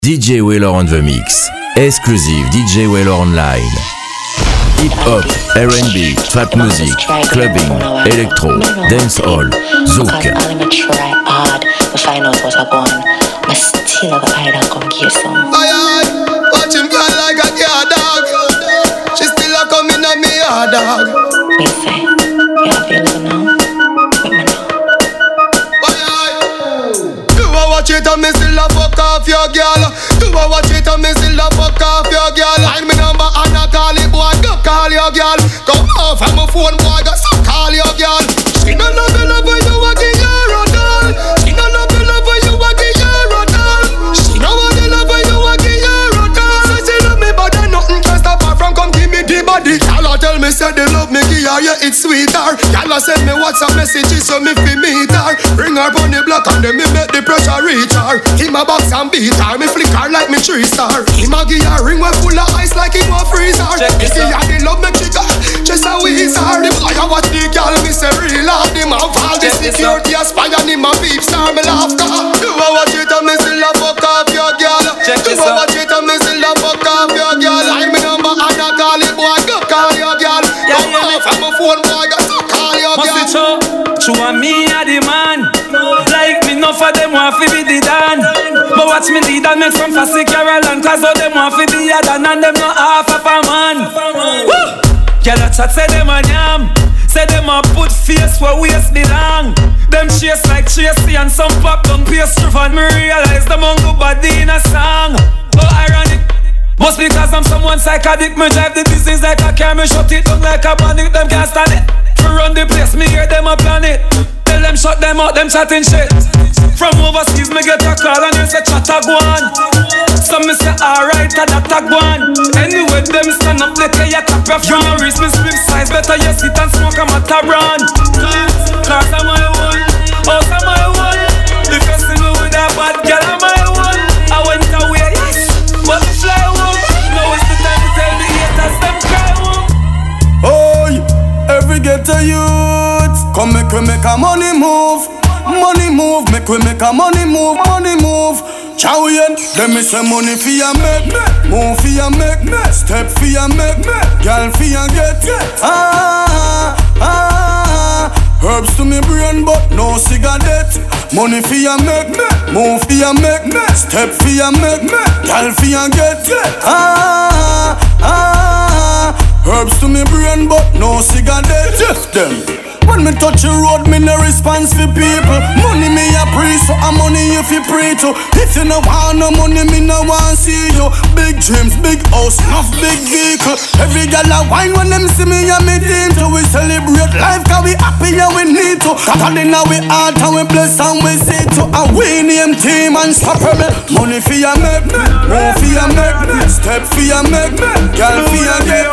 DJ Wheeler on the mix. Exclusive DJ Wheeler online. Hip-hop, R&B, trap music, clubbing, electro, dancehall, zouk. Try hard to find out what I want. I still have an eye that come give some. Watch him girl like a cat dog. She still a coming on me hard dog. Me say, you available now? With me now. You a watch it and me still a fuck off your girl. You a watch it and me still a fuck off your girl. Line me number and I call it boy, go call your girl. Come off of my phone boy, go so call your girl. She don't love you love when you a give her a doll. She don't love you love when you a give her a doll. She don't want you love when you a give her a doll. Say she love me but then nothing can stop her from come give me the body. Y'all tell me say they love me give her, yeah it's sweeter. Y'all send me WhatsApp messages so me fi meet her. Bring her on the block and then me make the pressure reach her. Him a box and beat her, me flick her like me 3-star. Him a give her ring when full of ice like him a freezer. Me see her the love me kick her, just a wheezer. The boy a watch the girl, me say real hard. Him a fall the security a spy and him a beep star. Me laugh car. You a watch it and me still a fuck off your girl. You a watch it and me still a fuck off your girl. Like me number and I call it boy, go call your girl. Come off of my phone boy, go so call your girl. Must it true and me a the man. Like me no for them want fi be the dan. But watch me lead and make some fussy Caroline. Cause all them want fi be a dan and them not half of a man. Woo! Girl a chat say them a yam. Say them a put face where waist belong. Them chase like Tracy and some pop down pace through. And me realize them on good body in a song. Oh ironic. Must because I'm someone psychotic. Me drive the business like a car. Me shut it down like a panic. Them can't stand it. To run the place, me hear them a plan it. Tell them shut them out, them chatting shit. From overseas, me get a call and they say chatta go on. Some me say alright, that go on. Anyway, them stand up, they tell you cap your from your wrist, me slim size. Better you sit and smoke a Mataran. Cause I'm my one, house I'm my one. If you see me with a bad girl, I'm my one. I went away, yes, but fly home. Now it's the time to tell the haters, them cry home. Every ghetto youth, come make we make a money move. Money move, make we make a money move. Money move. Chow-yen, them me say money for ya make. Move for ya make. Step for ya make. Girl for ya get. Herbs to me brain but no cigarette. Money for ya make. Move for ya make. Step for ya make. Girl for ya get. Herbs to me brain but no cigarette. Just them. When me touch the road, me no response for people. Money me a pray, so I'm money if you pray to. If you no want no money, me no want see you. Big dreams, big house, enough big vehicle. Every gal a wine when them see me and me team to. We celebrate life cause we happy and we need to. God in our heart and we bless and we say to. And we name team and stop me. Money for ya make, move for ya make, step for ya make, gal for ya get.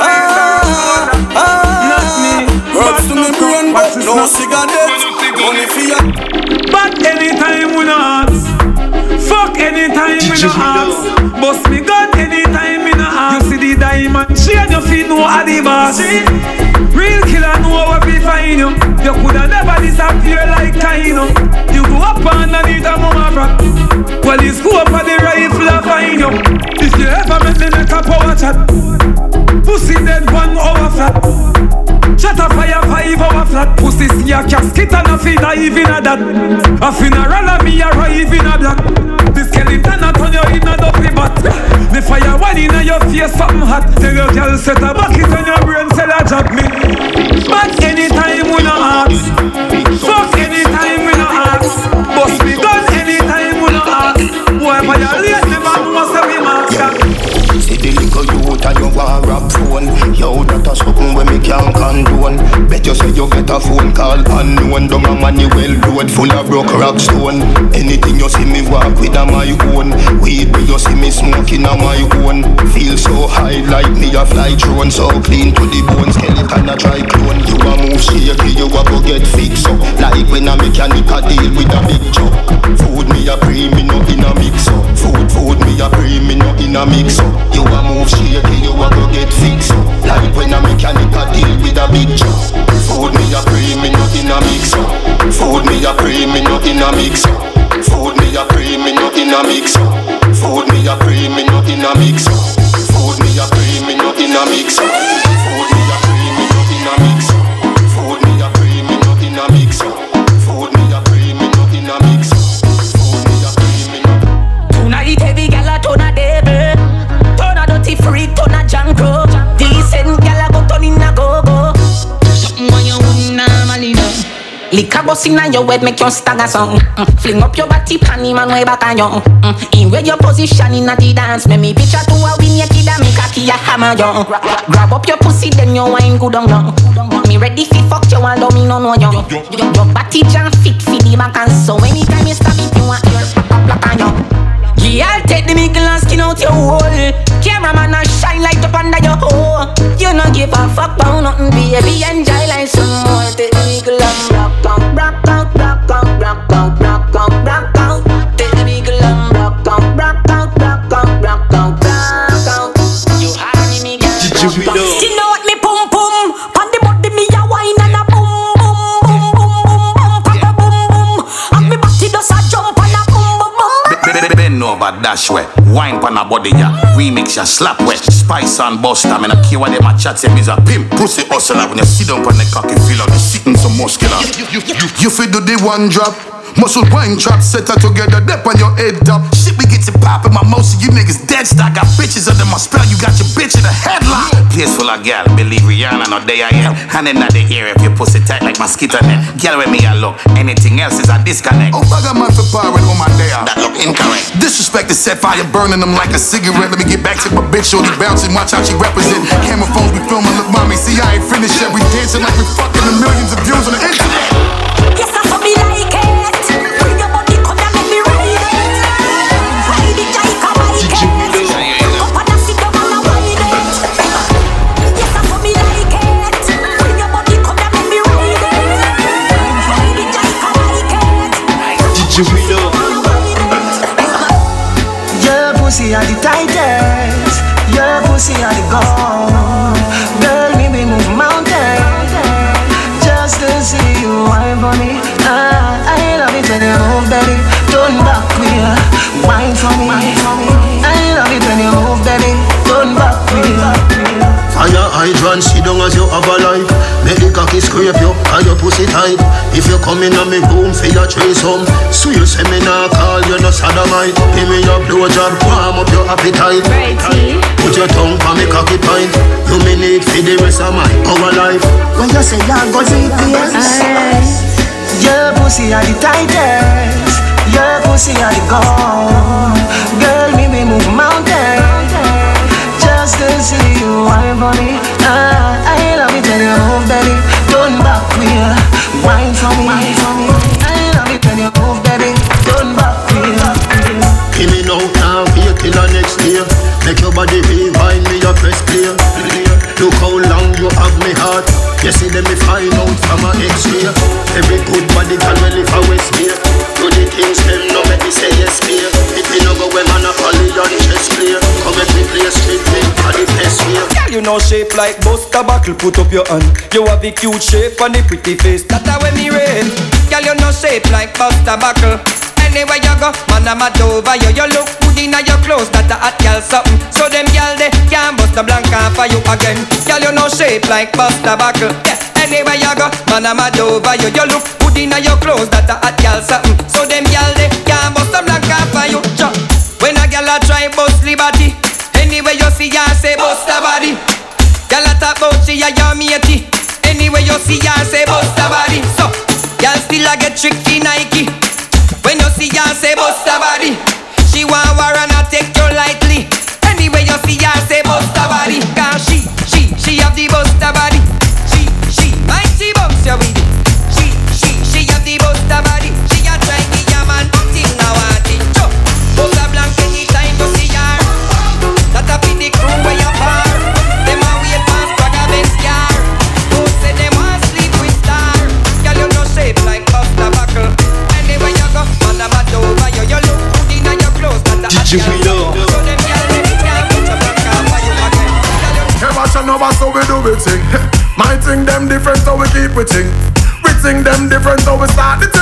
Herbs to me brain but no cigarette. Money for ya. But anytime we no ask. Fuck anytime we no ask. Bust me gun anytime we no ask. You see the diamond chain your feet know a the boss. Real killer know what we find you. You coulda never disappear like Kaino. You go up underneath a mama rock. Well you scope for the rifle I find you. If you ever make me make a power chat. Pussy dead 1 hour flat. Shut a fire 5 hour flat. Pussy see a casket and a feed dive in a that. A funeral and me arrive in a black. The skeleton a turn you in a dopey bat. The fire one in a your face something hot. Tell your girl set a bucket on your brain sell a job me. But anytime we no ask. Fuck anytime we no ask. Bust me gun anytime we no ask. Boy violate never know say we master. See the little youth and you want rap phone. Yo, that a something when me can't condone. Bet you say you get a phone call unknown. Down a Manuel road full of broke rock stone. Anything you see me walk with a my own. Weed me you see me smoking a my own. Feel so high like me a fly drone. So clean to the bone, skeleton a try clone. You a move shaky, you a go get fixed up. Like when a mechanic a deal with a big chop. Food me a pre, me no in a mix up. Food me a pre, me no in a mix up. You a move shaky, you a go get fixed up. Like when a mechanic a deal with a big job. Food me a pre, me no in a mix up. Food me a pre, me no in a mix up. Food me a pre, me no in a mix up. Food me a cream, me not in a mix. Food me a cream, me not in a mix. Food me a cream, me not in a mix. Food me a cream, me not in a mix. Food me a cream, me not in a mix. Food me a cream, me not. Tonight heavy gala turn a devil, turn a dirty freak, turn a jankro. Decent gala go turn in a go-go. Something when you wouldn't normally know. Liquor bust inna your head make you stagger song. Fling up your body panty man way back on you. In where your position inna the dance, make me picture to a win your kid and make a key a hammer you. Grab up your pussy then you wine good on you. Me ready fi fuck you although me no know you. Your body jam fit fi the back and so anytime you stop it you want your black on you. Yeah, I'll take the mickle and skin out your hole. Cameraman a shine light up under your hole. You no give a fuck about nothing, baby. Enjoy like some more. Take the mickle and rock out, rock out, rock out, rock out, rock out, rock out. Take the mickle and rock out, rock out, rock out, rock out, rock out. You honey me girl. You know what me pum pum? On the body me a wine and a boom boom boom boom boom boom, cock a boom boom. And me body does a jump and a boom boom boom. Bend over, dash way. Wine pan a body ya. Remix ya slap wet. Spice and buster. Me no care what them a chat say. Me's a pimp. Pussy hustler. When you sit down on the cocky feel like you sitting some muscular. You feel do the one drop. Muscle wine trap set her together, dip on your head top. Shit, we get to pop in my most of you niggas dead stock. Got bitches under my spell, you got your bitch in a headlock. Place full of gal, believe Rihanna, no day I am. Hand in the air if you pussy tight like mosquito net. Gal with me I look, anything else is a disconnect. Oh, bugger man for power on my day out. That look incorrect. Disrespect is set fire, burning them like a cigarette. Let me get back to my bitch, shorty bouncing, watch how she represent. Camera phones we filming, look mommy, see I ain't finished yet. We dancing like we fucking the millions of views on the internet. Yes, I saw me like it. Your pussy are the tightest, your pussy are the gold. Girl, me we move mountains just to see you wine for me. I love it when you move, baby. Turn back queer, wine for me. I love it when you move, baby. Turn back queer. Fire hydrant, sit down as you have a life. Make the cocky scrape you, and your pussy tight. If you come in on me room for your threesome, swear say me nah call you no sodomite. Give me your blowjob, warm up your appetite. Put your tongue on me cocky pint. You me need for the rest of my our life. When you say you're go deep, yes. Your pussy are the tightest, your pussy are the gold. Girl, me we move mountains just to see you wine for me. I love it when you move, baby. Turn back queer, wine for me. I love it when you move, baby. Turn back queer. Give me no time for you till the next year. Make your body rewind me your press clear. Look how long you have me heart. You see them me find out from a X-ray. Every good body can well if I waste me. Do the things them no make me say yes clear. If me no go where man a folly on chest clear. Come make me play straight me for the best way. Girl you know shape like Buster Buckle. Put up your hand. You have a cute shape and the pretty face. That's how me rate. Girl you know shape like Buster Buckle. Anywhere you go, man I'm mad over you. You look good in your clothes, that a hot girl something. So them girl they can't bust the blanca for you again. Girl you know shape like Buster Buckle. Yeah, anywhere you go, man I'm mad over you. You look good in your clothes, that a hot girl something. So them girl they can't bust the blanca for you. When a girl a try bust liberty, anywhere you see her say bust her body. Girl a talk about she a your matey. Anywhere you see her say bust her body. So girl still a get tricky Nike. When you see her say bust her body, she want war and I take you lightly. Anyway you see her say bust her body, cause she have the bust her body. She mighty bumps you with it. She have the bust her body. She a try me a man until now I think. Bust her blank anytime you see her. That a be the crew where you far. Them a wait past Praga Benz car. Who say them want sleep with star? Girl you no shape like Buster Buckle. Anywhere you go, man I'm mad over you. You look good in your clothes, that a hot girl. So them girl they can't put your back on for you again. Never shall never so we do it thing. My thing them different so we keep it thing. We think them different so we start the thing.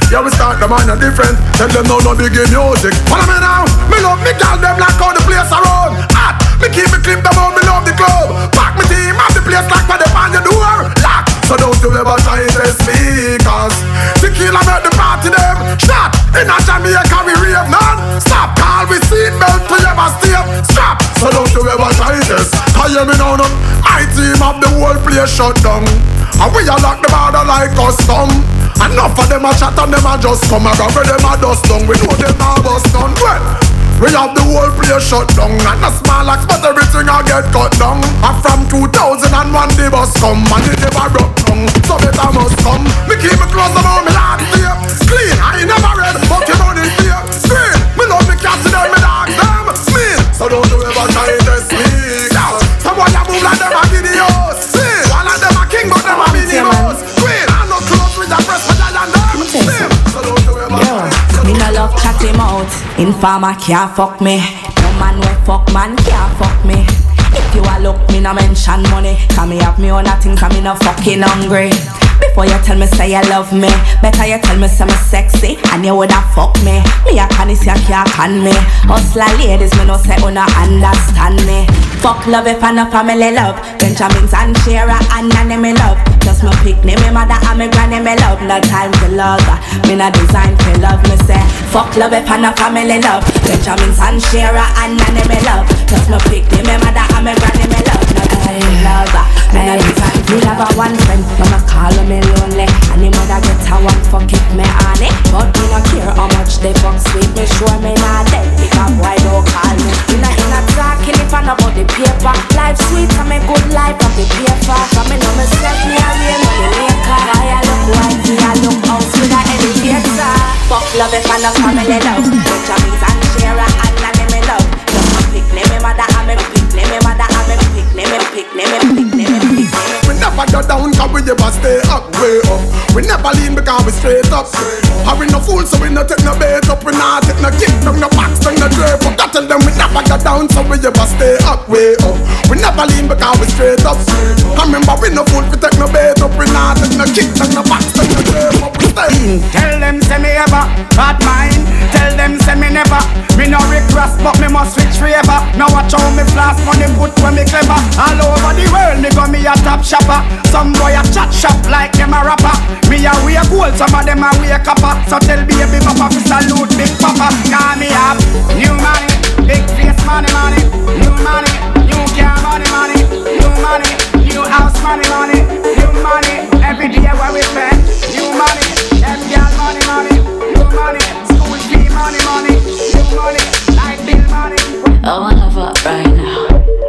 Yeah, we start them on a different. Tell them no biggie music. Follow me now. Me love me girl, them like how the place around. Hot. Me keep me clip them out, me love the club. Pack me team, have the place like for them on your door. Lock. So don't you ever try to test me, cause tequila make the party them. Shot. In a Jamaica we rave none. Stop. Call we seatbelt to ever stay. Strap. So don't you ever try this. Cause you me know them. My team have the whole place shut down. And we a lock the border like custom. Enough of them a chat and them a just come a grab them a dust down. We know them a bust down. Well, we have the whole place shut down. And a small axe but everything a get cut down. And from 2001 the bus come and it never broke down. So better must come. Me keep me close about me last year. Clean, I ain't never read but you know this year. Scream, me love me cats and me dog them. Mean, so don't you ever try to speak out. Someone a move like them a videos. See, one of them a king but them a videos. Queen, I no close with a press for that and them. So don't you ever try. Me no love chat him out. Informer can't fuck me. No man wey fuck man can't fuck me. If you a look, me no mention money. Cause me have me own a thing, cause me no fucking hungry. Before you tell me say you love me, better you tell me say me sexy, and you woulda fuck me. Me a canis, you can't can me. Hustler ladies, me no say una understand me. Fuck love if I no family love. Benjamins and Shara and Nanny me love. Just my picnic, me mother and me granny me love. No time to love, me no design for love. Me say fuck love if I no family love. Benjamins and Shara and Nanny me love. Just my picnic, me mother and me granny me love. No time to love, me no design for love. One friend, mama call me lonely, and the mother get a one fuck if me on it. But me no care how much they fuck sweet. Me sure me not dead because why don't call me. In a talking if I know about the paper. Life sweet and me good life of the paper. From me know myself me a real money maker. I look white, I look house with a elevator. Fuck love if I no family love. Benjamins and Shara and Nanny me love. Just my picnic, me mother and me picnic, me mother and me picnic, me picnic, me picnic, me picnic. We never go down cause we never stay up, way up. We never lean because we straight up. And we no fool so we no take no bait up. We not take no kick, no box, no drape up. That tell them we never go down so we never stay up, way up. We never lean because we straight up. I remember we no fool we take no bait up. We not take no kick, no box, no drape up. We stay. Tell them say me ever bad mind. Tell them say me never. Me no recross but me must switch forever. Now watch how me flash money put when me clever. All over the world me go me a top shopper. Some boy a chat shop like them a rapper. Me a wear gold, some of them a wear copper. So tell baby papa fi salute big papa. Cause me have new money, big face money, new money, new car money, new money, new house money, new money. Every day where we spend, new money, them girl money, new money, school fee money, new money, light bill money. I wanna fuck right now.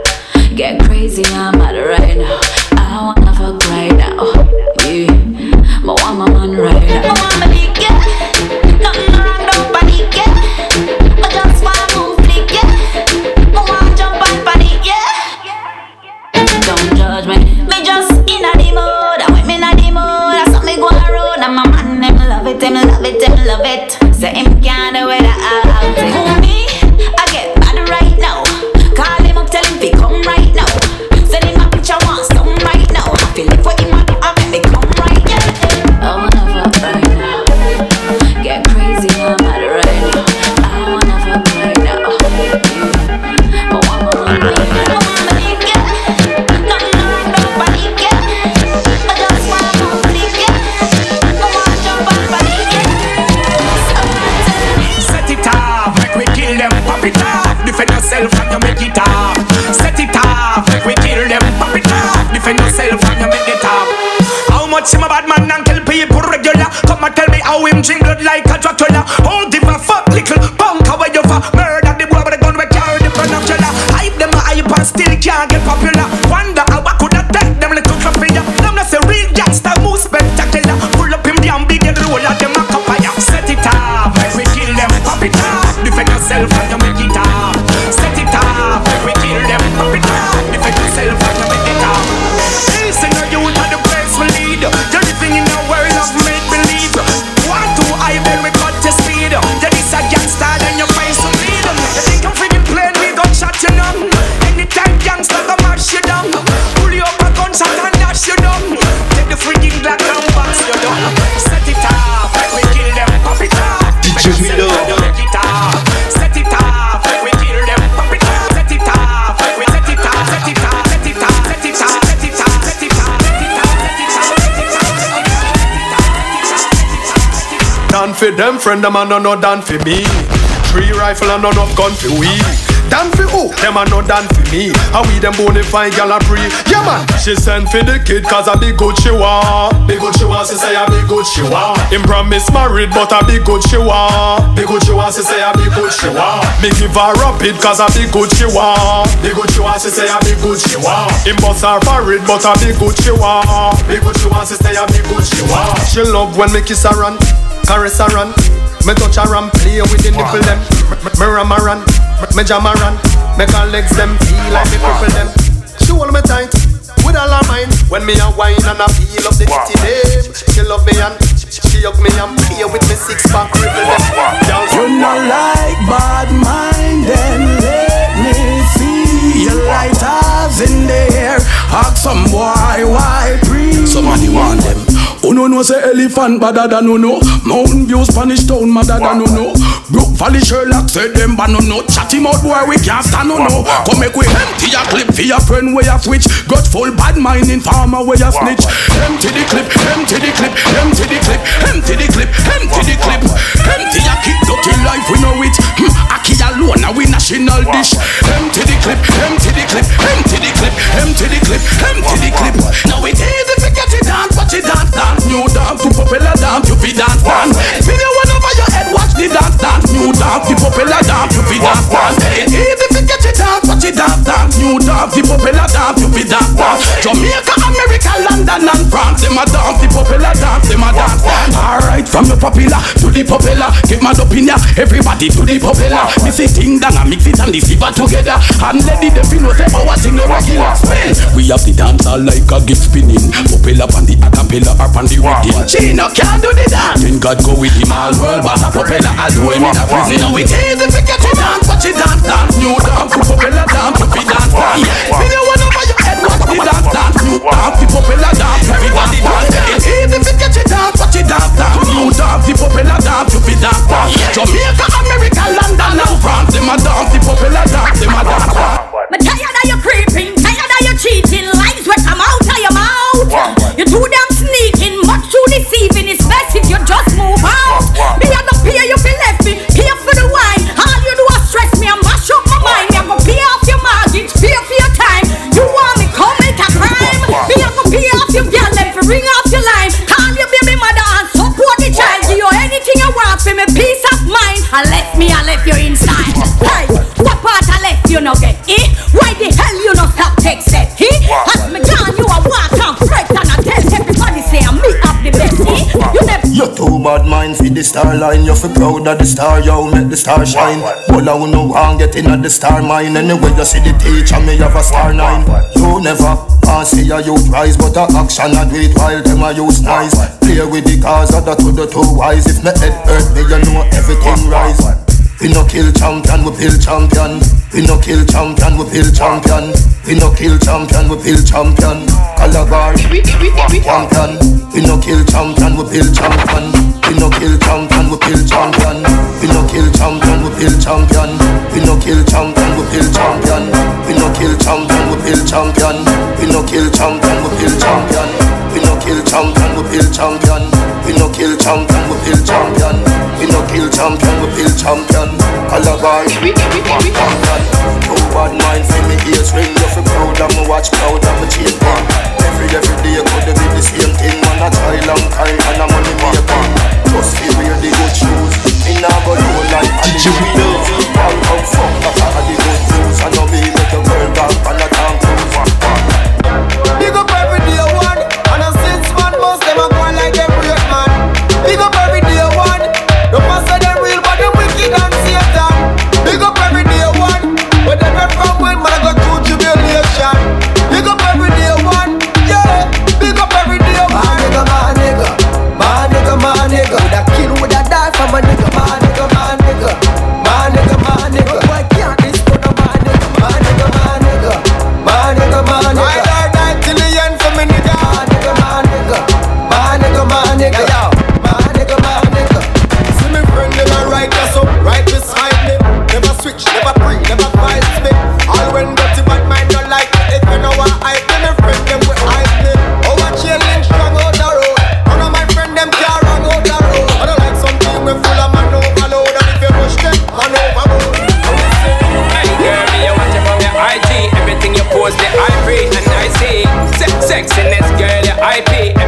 Get crazy, I'm mad right now. I wanna fuck right now. Yeah, but want my man right now. I want my dick, yeah. Nothing wrong, nobody, yeah. I just wanna move, flick, yeah. I wanna jump on body, yeah. Don't judge me. Me just in a the mood. I went me in a the mood. I saw me go around and my man, them love it, them love it, them love it. Say him can't do it, I'll take. Who me? I get mad right now. Call him up, tell him to come right now. Send him a picture, want some right now. I feel like for him, I make me come right, yeah. I wanna fuck right now. Get crazy, I'm mad right now. I wanna fuck right now. Yeah. But one more right now. I wanna lick it. Nothing wrong, nobody get. I just wanna move, lick it. I wanna jump on body, yeah. Set it off, like we kill them, pop it off. Defend yourself and you make it off. Set it off, like we kill them, pop it off. Defend yourself and you make it off. How much him a bad man and kill people regular? Come and tell me how him drink blood like a Dracula. Oh, give a fuck, little punk, how you for murder the boy with the gun we carry the binocular. Hype them a hype and still can't get popular. Wonder how I could attack them little coffee. Them not say real gangster move spectacular. Pull up him damn big and roll at them a cup of ya. Set it off, like we kill them, pop it off. Defend yourself and you make it off. Set it off, like we kill them, pop it off. Defend yourself and you make it off. Listen to you to the place we lead. You're living in a world of make-believe. Want to high, then we cut your speed. You're this a gangster, then you find some lead. You think I'm feeling plain, we gon' shot you know. Anytime gangster come out, shit for them friend, them a no done for me. 3 rifle and none of gun for we. Dan for who? Them a no done for me. How we them bonafide gal a pre. Yeah man, she send for the kid cause a big good she want. Big good she want, she say a big good she want. Him promise married but a big good she want. Big good she want, she say a big good she want. Me give her rapid cause a big good she want. Big good she want, she say a big good she want. Him bust her married but a big good she want. Big good she want, she say a big good she want. She love when me kiss her and caress her and me touch her and play with the nipple them. Me ram her and me jam her and make her legs them feel like me cripple them. She hold me tight with all her mind. When me a wine and I feel up the titty them. She love me and she hug me and play with me 6-pack cripple them. You not like bad mind, then let me see your lighters in the air. Ask some boy why breathe. Somebody want them. Oh no say elephant badder than no. Mountain View Spanish Town madder than no. Brook Valley Sherlock said them but no. Chatty mouth boy we can't stand no. Come make we empty your clip for your friend where you switch. Got full bad mind in farmer where you snitch. Empty the clip, empty the clip, empty the clip, empty the clip, empty the clip. Empty your keep dirty life we know it. Aki alone now we national dish. Empty the clip, empty the clip, empty the clip, empty the clip, empty the clip. Now it easy to get it down, watch it dance. New dance to popular dance, you be dance dance. Video one over your head, watch the dance dance. New dance, the popular dance, you be dance dance. It easy to get it dance, watch it dance dance. New dance, the popular dance, you be dance dance. Jamaica, America, London and France, them a dance, the popular dance, them a dance dance. Alright, from the popular to the popular, get mad up in ya, everybody to the popular. Mix it thing down and mix it and the silver together. And let the devil know say our thing no regular spell. We have the dancer like a gift spinning, popular on the acapella or on the rhythm. Chino can't do the dance. Then God go with him all world, but a propeller I'll do him in a prison. Now it easy to get it dance, watch it dance dance. New dance, the propeller dance, to be dance dance. Video one over your head, watch the dance dance. New dance, the propeller dance, everybody dance. It easy to get it dance, watch it dance dance. New dance, the propeller dance, to be dance dance. Jamaica, America, London and France, them a dance, the propeller dance, them a dance dance. I'm tired of you creeping, tired of you cheating. Lies will come out of your mouth. You're too damn sneaking, much too deceiving. It's best if you just move out. Me I don't pay you for left me, pay for the wine. All you do is stress me and mash up my mind. Me I go pay off your mortgage, pay for your time. You want me come make a crime? Me I go pay off your girl, then for ring off your line. Call your baby mother and support the child. Give you anything you want for me peace of mind. I left you inside. Hey, what part I left you no get? Why the hell you no stop text it? As me gone you a walk and fret and I tell everybody say I'm me up the best. You never. You're too bad mind for the star line. You feel proud of the star, yo, make the star shine. Well I will no one get in at the star mine. Anyway you see the teacher me have a star 9. You never see a you prize, but a action I do it while them I use nice. Play with the cars of the to the too wise. If me head hurt me you know everything rise. We no kill champion, we build champion. We no kill champion, we build champion. We no kill champion, we build champion. Calabar, champion. We no kill champion, we build champion. We no kill champion, we build champion. We no kill champion, we build champion. We no kill champion, we build champion. We no kill champion, we build champion. We no kill champion, we build champion. We no kill champion, we build champion. We no kill champion, we build champion. We no kill champion, we build champion. Calabar, champion. Too bad mind for me ears ring. You feel proud of me watch proud of me chain gun. Every day could be the same thing. Man a try long time and a money making. Just feel wear the good shoes. Me nah go low like DJ Wheels. All come fuck back at the good news. I know me make your girl back and a damn cruise. Big up every day one. And a 6 man most them a go like them great man. Big up every day one. The pastor them real but them wicked and Satan. Big up every day one.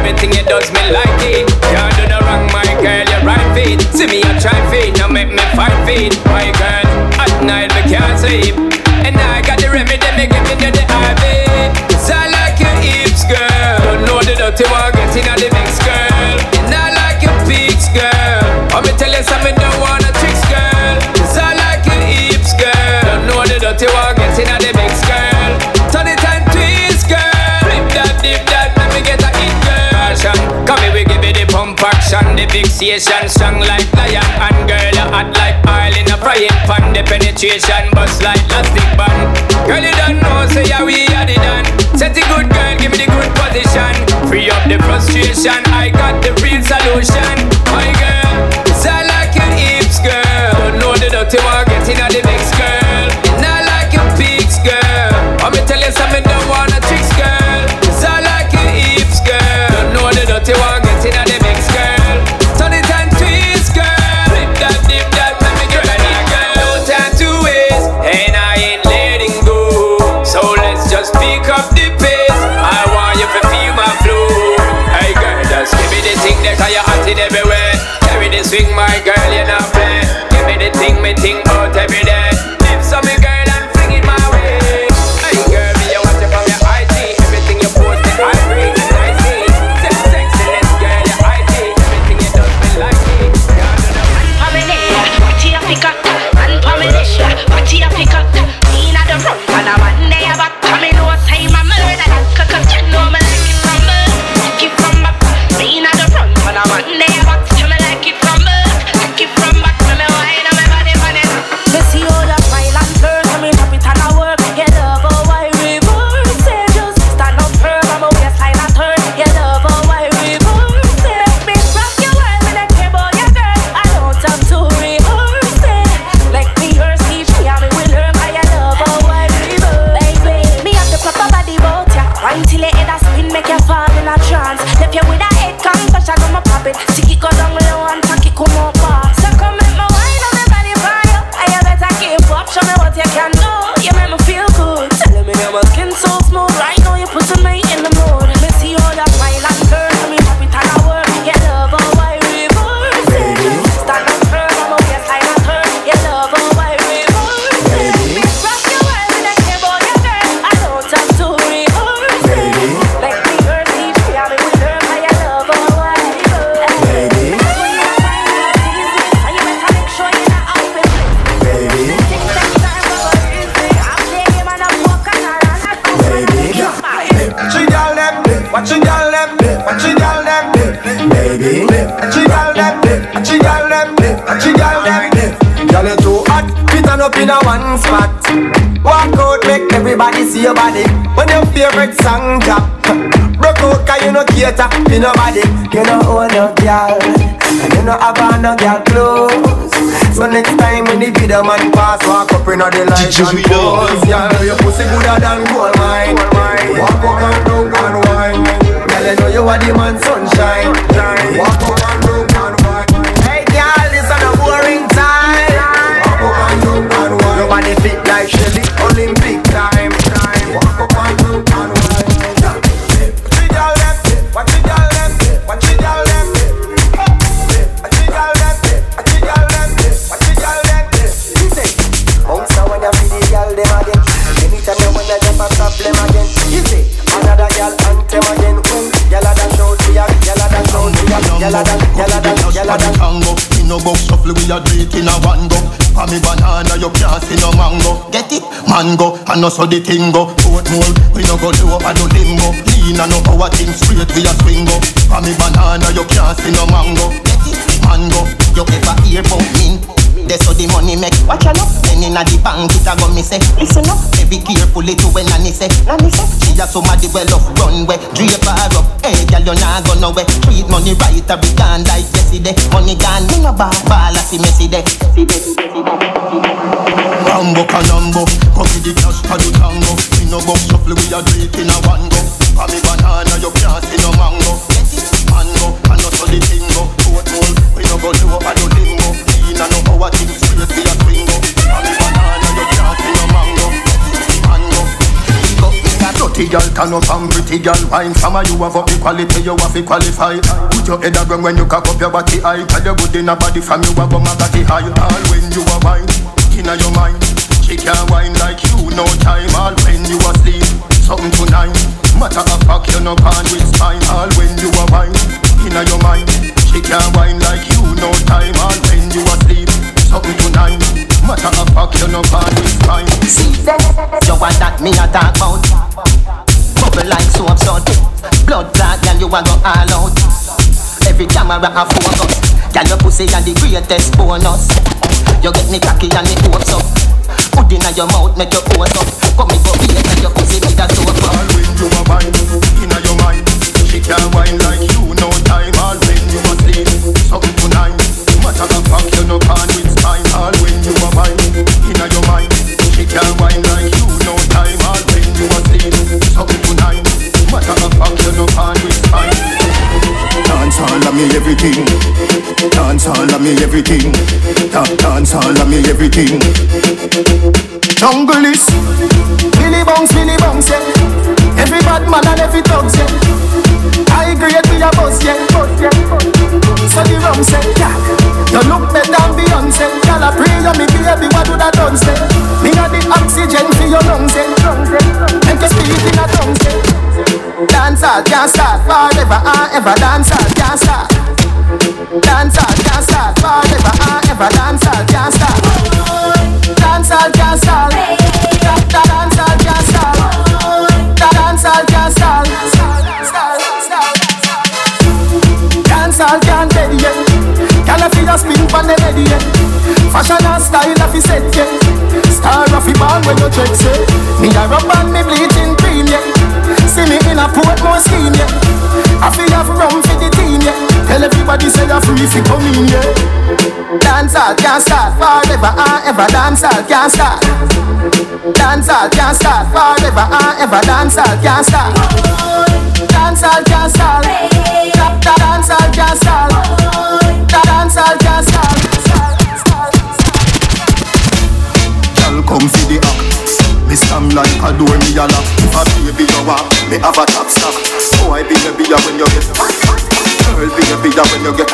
everything you does me like it. Can't do no wrong, my girl, you're right feet. See me, I try feet, now make me 5 feet. My girl, at night we can't sleep. And I got the remedy, me giving you the IV. Cause I like your hips, girl. Don't know the dirty one, getting on the mix, girl. And I like your peaks, girl. Let me tell you something, don't wanna tricks, girl. Cause I like your hips, girl. Don't know the dirty one, getting on the mix, girl. Turn it and twist, girl. Flip that, dip that, let me get a hit, girl. Come here, we give it the pump action. The fixation strong like lion. And girl, you hot like oil in a frying pan. The penetration bust like plastic band. Girl, you don't know, say yeah, we had it done. Set it good, girl, give me the good position. Free up the frustration, I got the real solution. My girl, cause I like your hips, girl. Don't know the dirty one, getting on the mix, girl. And I like your peaks, girl. Let me tell you something, don't wanna tricks, girl. Cause I like your hips, girl. Don't know the dirty one, getting on the mix, girl. Turn it and twist, girl. Flip that, dip that, let me get ready, girl. No time to waste, and I ain't letting go. So let's just pick up the pace. I want you to feel my flow. Hey girl, just give me the thing that you're hot in everywhere. Carry the swing, my girl, you not play. Give me the thing, me think out every day. Lift some me girl and fling it my way. Hey girl, me you want you from your IT. Everything you post, I read it, I see. Sexiness, girl, your IT. Everything you does me like it. Pamela, what you pick up? And Pamela, what you pick up? Me not the front, and I'm on there back. Pamela, say my murder, cause you know me like it from me. Like it from back. Me not the front, and I'm on there back. You me like it from me. Like it from back. Me wine on my body, man. Me see all the file and curse, me drop it and I work. You love how I reverse it. Just stand up firm, I'm a waistline and turn. You love how I reverse it. Me rock your world, me don't care about your girl. I don't have to rehearse it. Like me her Steve, me and me will learn. I love how I reverse. Baby, me have the proper body bout ya. Wine till your head a spin, make you fall in a trance. Left you with a head concussion, I'ma pop it. Stick it go down low and tack it come up fast. So come make me wine on me body fire. I better keep up, show me what you can do. You make me feel good. Telling me my skin so smooth. Right now you putting me in the mood. Me see all that smile and curve, me drop it and I work. You love how I reverse it. Stand up firm, I'm a waistline and turn. You love how I reverse it. Me rock your world, me don't care about your girl. I don't have to rehearse it. Like me her Steve, me and me will learn. I love how I reverse it. When you find out things, so you better make sure you're not out with me. Take that time for a reason. I'm playing man, I'm walking around. Watch you girl them, watch you girl them, watch you girl them, baby. Watch you girl them, watch you girl them, watch you girl them. Girl you too hot, fit on up in a one spot. Walk out, make everybody see your body. When your favorite song drop, broke out 'cause you no cater to nobody. You no own no girl, and you no have on no girl clothes. So next time when the video man pass, walk up in the light and pose. Girl, your pussy gooder than gold mine. Walk up and down and wine. Girl, you know you are the man sunshine. Walk up and down and wine. Hey girl, this is a boring time. Walk up and down and wine. Your body fit like Shelly, Olympic time. Walk up and down and wine. Watch you girl them, watch you girl them, watch you girl them. Watch you girl them, watch you girl them, watch you girl them. Bounce now when you see the girl them again. Anytime you wanna jump a problem again. You see another girl anthem again. When girl a dash out to ya, girl a dash out to ya, girl a dash. We no go shuffle, we a do it in a one go. For me banana, you can't see no mango. Get it? Mango, and no so the thing go. Oat mold, we no go low and no limbo. Lean and no power thing straight, we a swing go. For me banana, you can't see no mango. Get it? Mango, you ever hear about me? That's how the money make. Watch out, then inna the bank it a go me say. Listen up, be careful to when Nanny say. Nanny say, she a somebody well off runway. Drape her up, hey girl you nah go nowhere. Treat money right, a be gone like yesterday. Money gone, me no ball as see messy day. Rambo canambo, copy the cash for the tango. We no go shuffle, we a do it in a one go. For me banana, you can't see no mango. Get it? Mango, and not so the thing go. Oat mold, we no go low and no limbo. Lean and no power thing straight, we a swing go. For me banana, you can't see no mango. Mango, go, Mr. Blood Dirty girl turn up and pretty girl wine. From a you have up the quality, you have to qualify. Put your head around when you cock up your body high. Cause you good in a body from you have a magati high. All when you are wine, inna your mind. She can't wine like you, no time. All when you asleep, something tonight. Matter of fact, you no pan with spine. All when you are wine, inna your mind. She can't wine like you, no time. All when you asleep, something tonight. Matter of fact, you no pan with spine. See that, you want that me a talk about. Bubble like soap salt. Blood clot, girl, you a go all out. Every camera a focus. Girl, your pussy a the greatest bonus. You get me cocky and me hopes up. Put inna your mouth, make your pose up. Come me go beat and your pussy with a soap up. All when you are wine, inna your mind. She can't wine like you, no time. All when you asleep, something tonight. Matter of fact, you no pan with spine. All when you are wine, inna your mind. She can't wine like you, no time. All when you asleep, something tonight. Matter of fact, you no pan with spine. Dance all of me everything. Dance all of me everything. Dance all of me everything. Jungle is Billy Bounce, yeah. Every bad man and every thugs, yeah. I grade me a buzz, yeah. So the rum say, yeah. You look better than Beyonce. Y'all a pray you me baby, what do that done say? Me got the oxygen for your lungs, yeah. Make you speak in a tongue, say. Dancehall can't start forever and ever. Dancehall can't start. Dancehall can't start forever and ever. Dancehall can't start. Dancehall can't start. Dancehall can't start. Dancehall can't start. Dancehall can't steady yet. Can I feel a spin from the ready yet? Fashion and style of the set yet. Star of the ball when you check say. Me a rub and me bleaching cream yet. See me in a Portmore scheme, yeah. I feel have rum for the team, yeah. Tell everybody say you're free if you come in, yeah. Dancehall can't start forever and ever. Dancehall can't start. Dancehall can't start forever and ever. Dancehall can't start. Dancehall can't start. Dancehall can't start. Dancehall can't start. Girl, come for the act. Me stand like a door, me a lock. If a baby you walk, me have a top stock. Boy, be a beer when you get. Girl, be a beer when you get.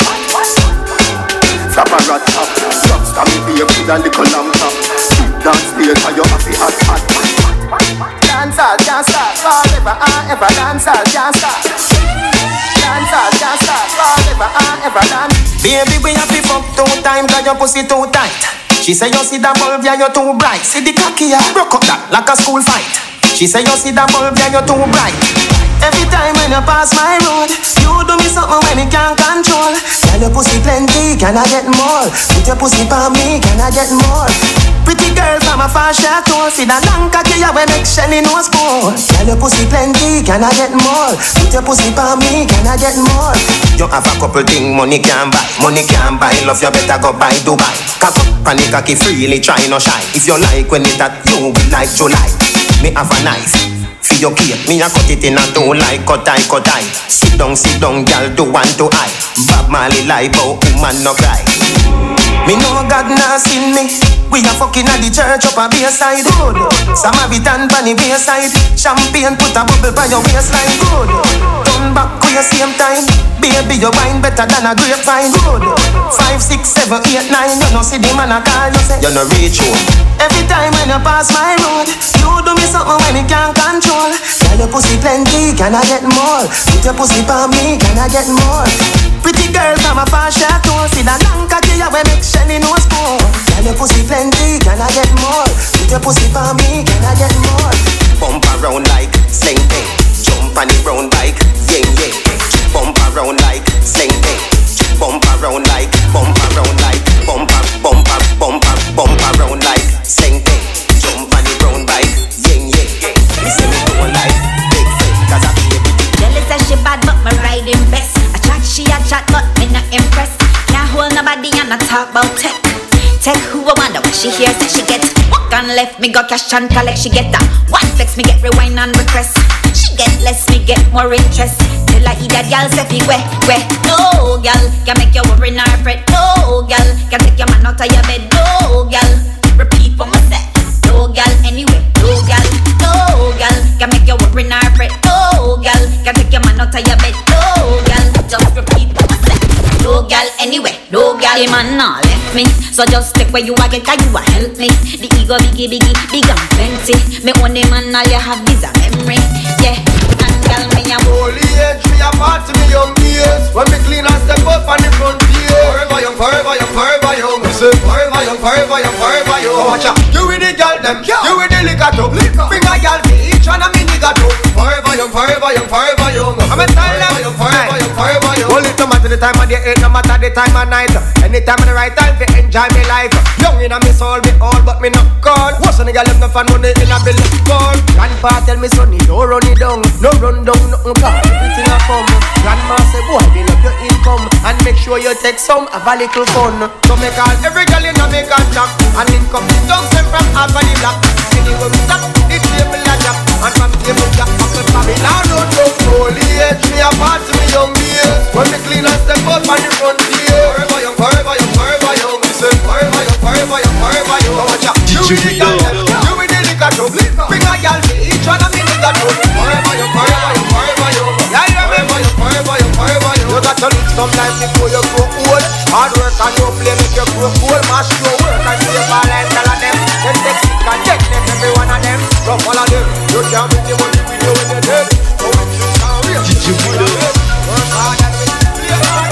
Flap a rat top. Drop me be a with a little lamb top. Dance later, you have the hot. Dancehall can't start forever and ever. Dancehall can't start. Dancehall can't start forever and ever. Baby, we have to fuck 2 times 'cause your pussy too tight. She say you see that bulb, yeah, you're too bright. See the cocky, yeah, broke up that like a school fight. She say you see that bulb, yeah, you're too bright. Every time when you pass my road, you do me something when you can't control. Tell your pussy plenty, can I get more? Put your pussy for me, can I get more? Pretty girl from a far chateau, see that long cocky, yeah, we make Shelly no spoon. Tell your pussy plenty, can I get more? Put your pussy for me, can I get more? You have a couple things money can't buy. Money can't buy, love you better go buy Dubai. Cock up, panic cocky, freely try no shy. If you like when it that, you will like July. Me have a knife. For your cake, me a cut it in a two like cut eye. Sit down, girl, do one to eye. Bob Marley lie, but woman no cry. Me know God nah seen me. We a fucking at the church up a bayside. Good. Samaritan pan the bayside. Champagne put a bubble by your waistline. Good. Turn back for your same time. Baby, your wine better than a grapevine. Good. 5, 6, 7, 8, 9. You no see the man a call you say you no reach home. Every time when you pass my road, you do me something when you can't control. Tell your pussy plenty, can I get more? Put your pussy for me, can I get more? Pretty girl from a far chateau, see that long cocky ya we make Shelly no spoon. Tell your pussy plenty, can I get more? Put your pussy for me, can I get more? Bump around like sling thing, jump on the brown bike, yeah. Bump around like sling thing, bump around like, bump around like, bump around like sling thing, jump on the brown bike, yeah. Me say me don't like big fake, 'cause I feel it. Jelly says she bad but me riding best. I chat, she a chat but me not impressed. Can't hold nobody and I talk about tech. Tech who I wonder what she hears that she gets. Walk on left, me go cash and collect, she get that. One text, me get rewind and request. She get less, me get more interest. Till I eat that gal say fi weh. No gal, can make you worry nor fret. No gal, can take your man out of your bed. No gal, repeat what me say. No gal, anyway. No gal, can make you The man nah left me, so just take where you a get and you a help me. The ego biggie, big and plenty. Me own the man, all you have is a memory. Yeah, and tell me I'm holy age, me a part to me young years. When me clean and step up on the frontier. Forever young, forever young, forever young. Me say forever young, forever young, forever young. Oh, watcha, you with the girl them, you with the liquor too. Bring a girl for each one of me nigga too. Forever young, forever young, forever young. I'm a tell them, forever young, forever young. Hold it no matter the time of the day, no matter the time of night. Anytime at the right time to enjoy me life. Young in a me soul, me all, but me not cold. What's on the girl left no fun money in a bill cold. Grandpa tell me sonny, don't run it down. No run down, nothing cause everything a come. Grandma say boy, build up your income and make sure you take some, have a little fun. So me call every girl in a me contact and link up the dogs them from half of the block. Anyway we stop, the table a drop. And from table jack, up and Babylon don't go. Holy age, me a part to me young years. When me clean and step up on the frontier. Forever young, forever young, forever young. Me say forever young, forever young, forever young. Oh, watcha, you with the girl them, you with the liquor too. Bring a girl for each one of me nigga too. Forever young, forever young, forever young. Yeah, you remember young, forever young, forever young. You got to look sometimes before you grow old. Hard work and no play make you grow old. Mash your work and save all and tell of them. Then take sick and take them, every one of them. Don't follow them. You can't make the money with you when you're dead. So when you can't reach, you work hard and we play hard.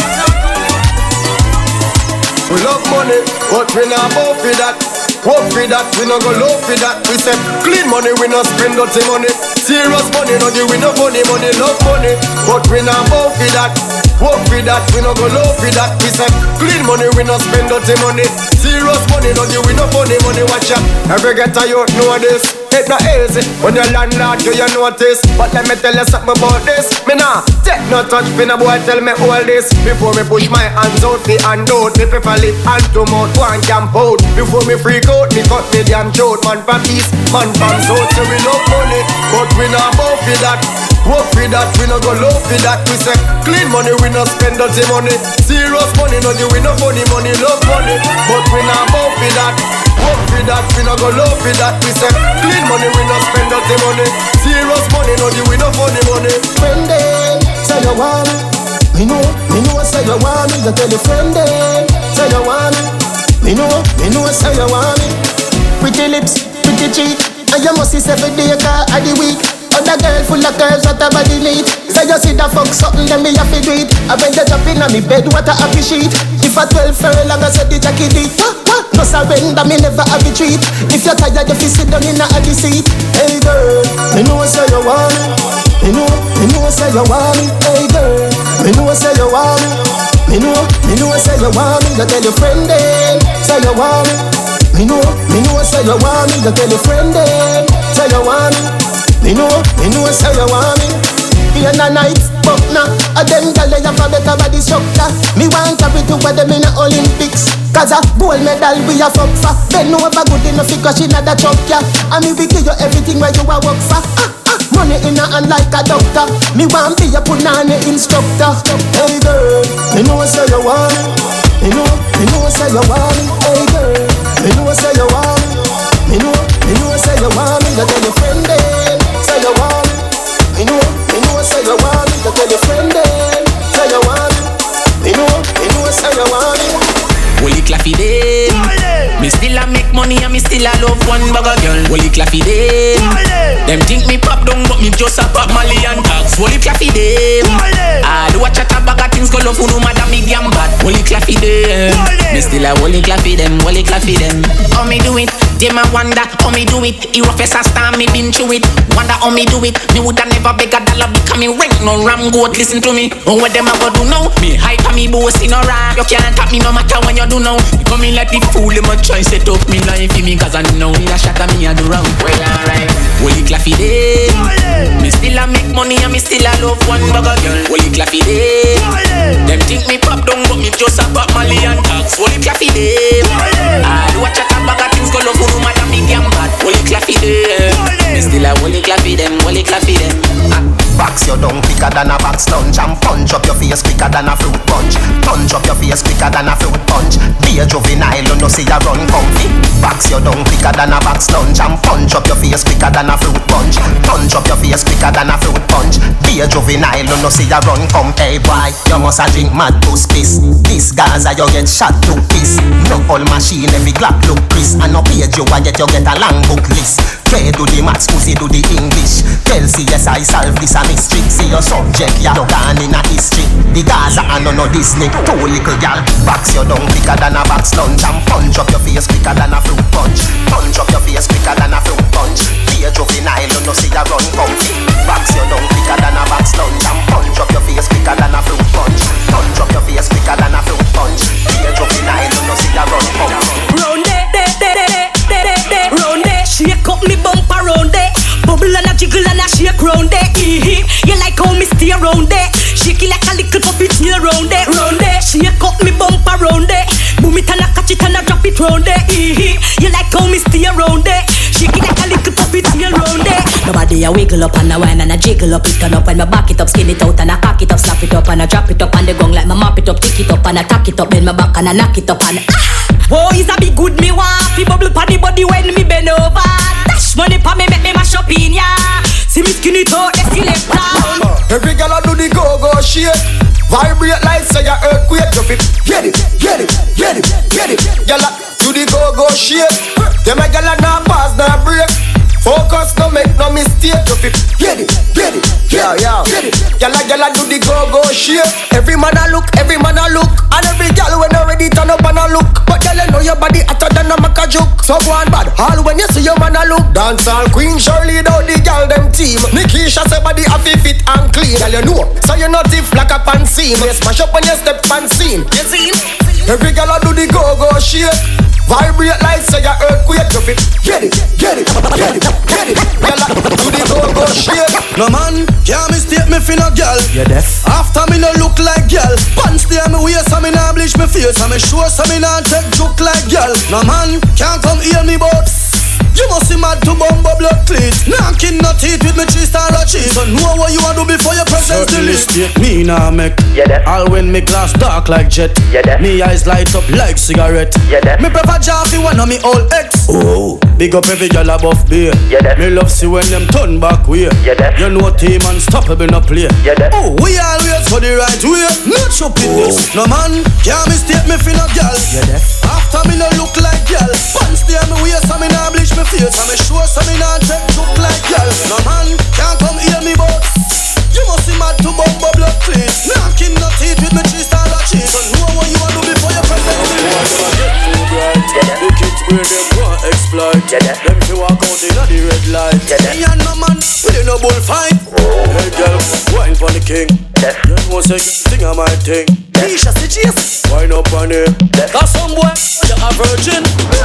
We love money, but we not both for that. Hope for that, we no go low for that. We say clean money, we no spend dirty money. Serious money, no give we no funny money. Love money, but we not both for that. Hope for that, we no go low for that. We say clean money, we no spend dirty money. Serious money, no give we no funny money. Watch out, every getter you know this. It not easy when your landlord do you notice. But let me tell you something about this. Me nah take no touch for no boy tell me all this. Before me push my hands out the hand out. Me prefer lip hand to mouth one camp out. Before me freak out me cut me damn throat. Man from east, man from south. So we love money, but we not bout for that. Work for that, we no go low for that. We say clean money, we no spend dirty money. Serious money, no give we no funny money. Love money, but we not bout for that. Work for that, we no go low for that. We say clean money, we no spend dirty money. Serious money, no give we no funny money. Friend them, say you want me. Me know say you want me. You tell your friend them, say you want me. Me know say you want me. Pretty lips, pretty cheek, and you must see every day car of the week. Other girl full of curves, what a body neat. Say you see the fuck something, then me have to do it. I beg you jump in on me bed, what a happy sheet. If a 12 furlong, I said the jacket deep. No surrender, me never have a treat. If you're tired, you fi sit down in the seat. Hey girl, me know say you want me. Me know say you want me. Hey girl, me know say you want me. Me know say you want me. You tell your friend then, say you want me. Me know say you want me. You tell your friend then, say you want me. Me know say you want me. In the night, but now a them girl they have a better body structure. Me want to be to with them in the Olympics. Cause a gold medal we a fuck for. Then no ever good enough because she not a truck, yeah. And me we give you everything where you a work for. Money in a hand like a doctor. Me want be a punani instructor. Hey girl, me know say you want me. Me know say you want me. Hey girl, me know say you want me. Me know say you want me. You tell your friend then, say you want me. Me know say you want me. You tell your friend then, say you want me. Me know say you want me. Holy claffy them. Me still a make money and me still a love one bugger girl. Holy claffy them. Them think me pop down but me just a pop Mali and tags. Holy claffy them. I do a chat a bag of things go love no matter me damn bad. Holy claffy them. Me still a holy claffy them. Holy claffy them. How me do it? Them a wonder how me do it. He rough as a star me been through it. Wonder how me do it. Me woulda never beg a dollar because me rank no ram goat. Listen to me. Oh what them a go do now? Me hype and me boss in a rap. You can't tap me no matter when you do now. You come in like the fool, them a try set up me life for me cause I know me a shot and me a do wrong. Well alright, holy claffy them. Me still a make money and me still a love one bugger girl. Holy claffy them. Them think me pop down but me just a pop Mali and tags. Holy claffy them. I do a chat a bag of things go love no matter me damn bad. Holy claffy them. Me still a holy claffy them. Holy claffy them. Box your down quicker than a box lunch and punch up your face quicker than a fruit punch. Punch up your face quicker than a fruit punch. Be a juvenile, you know see ya run comfy. Box your down quicker than a box lunch and punch up your face quicker than a fruit punch. Punch punch up your face quicker than a fruit punch. Be a juvenile, you no see ya run come. Hey boy, you must a drink mad boost piss. This Gaza you get shot to piss. No all machine every Glock look crisp. And no page you and yet you get a long book list. K do the maths, pussy do the English. Tell CSI solve this a mystery. See your subject, ya no gone in a history. The Gaza and no Disney. Two little gal, box you down quicker than a box lunch. And punch up your face quicker than a fruit punch. Punch up your face quicker than a fruit punch. Be a juvenile, you no see ya run comfy. Box you down quicker than a box lunch. And punch up your face quicker than a fruit punch. Punch up your face quicker than a fruit punch. Be a juvenile, you no see ya run comfy. Round it, round it, shake up me bumper round it. Bubble and a jiggle and a shake round it. You like how me stay round it. Shake it like a little puppy tail round it. Round it, shake up me bumper round it. Boom it and a catch it and a drop it round it. You like how me stay round it. Shake it like a little puppy tail round it. Nobody a wiggle up and a whine and a jiggle up. It turn up when me back it up, skin it out and a cock it up, slap it up and a drop it up on the gong like me mop it up, tick it up and a tack it up, bend my back and a knock it up and oh, is a big good me want. Fi bubble pa the body when me bend over. Dash money pa me make me mash up in ya. See me skin it out, the selector. Every girl a do the go-go shit. Vibrate like say a earthquake. You fit get it, get it, get it, get it. Girl a do the go-go shit. Them a girl a nah pass, nah break. Focus, no make no mistake. You fit get it, get it, get it, get it. Girl a do the go-go shit. Every man a look, every man a look. And every girl when already turn up and a look. But girl you know your body hotter than a maca joke. So go on bad, all when you see your man a look. Dancehall queen Shirley down the girl them team. Nikisha say body have fit and clean. Girl you know, so you not if like a pan scene. You smash up when you step pan scene. You see? Every girl a do the go-go shit. Vibrate like say a earthquake. You fit get it, get it, get it, get it. Girl a do the go-go shit. No man, can't mistake me for no girl. You deaf? After me no look like girl. Pants stay me waist and me nah bleach me face. And me sure so me nah take joke like girl. No man, can't come hear me but you must see mad to bumbo blood cleats. Knocking no teeth with me cheese or a cheese. So know what you want to do before your presence delete. Me nah make all when me glass dark like jet. Me eyes light up like cigarette. Me prefer Jaffy one of me old ex. Oh, big up every girl above beer. Me love see when them turn back way. You know team unstoppable no play. Oh, we always go the right way. Not stupidness. No man can't mistake me for no girl. After me no look like girl. Pants stay me waist and me nah bleach me face. And me sure so me nah take look like girl. No man can't come hear me but you must see mad to bumbo blood clean. Knocking no teeth with me cheese and a cheese. So know what you want to do before you present me. Boy, them a get too bright. The kids where them want exploit. Them fi walk out in the red light. Me and no man we no bullfight. Hey girl, wine for the king. You know say thing of my thing. Nisha say Jesus. Wine up on him. Cause some boy you a virgin.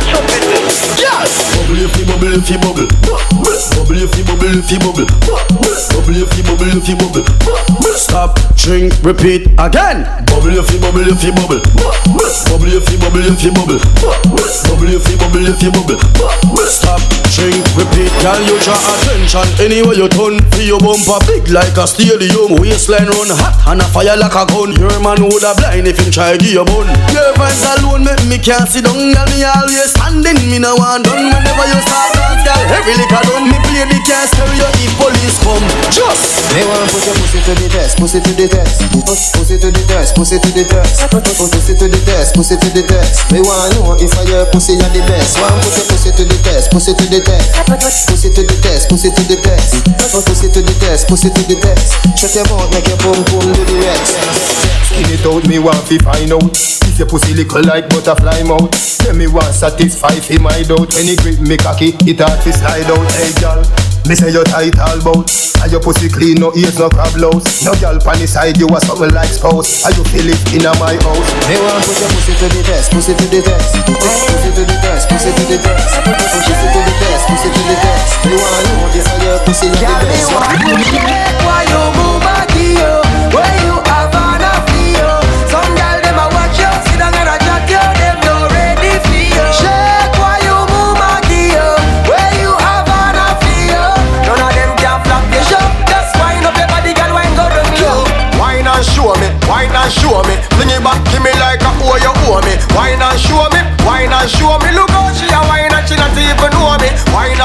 Yes. Bubble if you bubble if you bubble. Bubble if you bubble if you bubble. Bubble if you bubble if you bubble. Stop, drink, repeat again. Bubble if you bubble if you bubble. Bubble if you bubble if you bubble. Bubble if you bubble if you bubble. Stop, drink, repeat. Girl, you draw attention anywhere you turn. Feel your bumper big like a stadium. Waistline run hot and a fire like a gun. Your man woulda blind if him try give you bun. Your vibes alone make me can't sit down. Girl, me always standing. Me no want done. Whenever you start dance, girl, every liquor done. Me play the cast, stereo if police come. Just me want put your pussy to the test, pussy to the test, pussy to the test, pussy to the test, pussy to the test, pussy to the test. Me want know if I your pussy are the best. Want put your pussy to the test, pussy to the test, pussy to the test, pussy to the test, pussy to the test, pussy to the test. Shut your mouth, make your bum do the rest. Skin it out, me want to find out if your pussy little like butterfly mouth. Then me want satisfy fi my doubt. When it grip me cocky, it hard to slide out. Hey girl, me say you tight all bout. And your pussy clean, no ears, no crab louse. No girl pan the side, you a something like spouse. And you feel it in a my house. Me want put your pussy to the test, pussy to the test, pussy to the test, pussy to the test, pussy to the test, pussy to the test. Me want know if I your pussy are the best. Why you move back here? Where you have an affair? Some girl them a watch you, sit down and a chat you. Them no ready for you. Shake why you move back here? Where you have an affair? None of them can flap your shop. Just wind up your body, girl, wine go down low. Wine and show me, wine and show me. Fling it back, give me like a oh you owe me. Wine and show me, wine and show me. Look how she a wine and she not even know me. Wine and show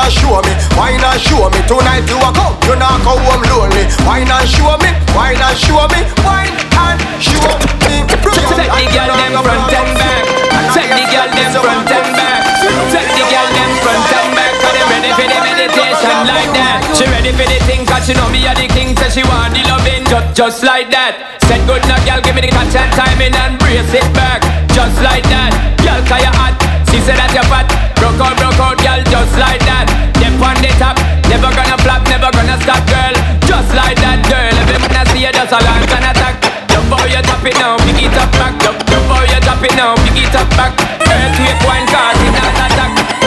me, why not show me? Tonight you a come, you not go home lonely. Why not show me? Why not show me? Why not show me? Take the girl them front and back. Take the girl them front and back. Take the girl them front and back. Cause they ready for the meditation like that. She ready for the thing cause she know me a the king. Say she want the loving just like that. Said good now girl give me the catch and timing and brace it back. Just like that. Girl cause you hot. She said that you're fat. Broke out girl just like that. Dip on the top. Never gonna flop, never gonna stop girl. Just like that girl. Every man I see you just a launch and attack. Jump how you drop it now, pick it up back. Jump how you drop it now, pick it up back. Earthquake one cause it's not attack.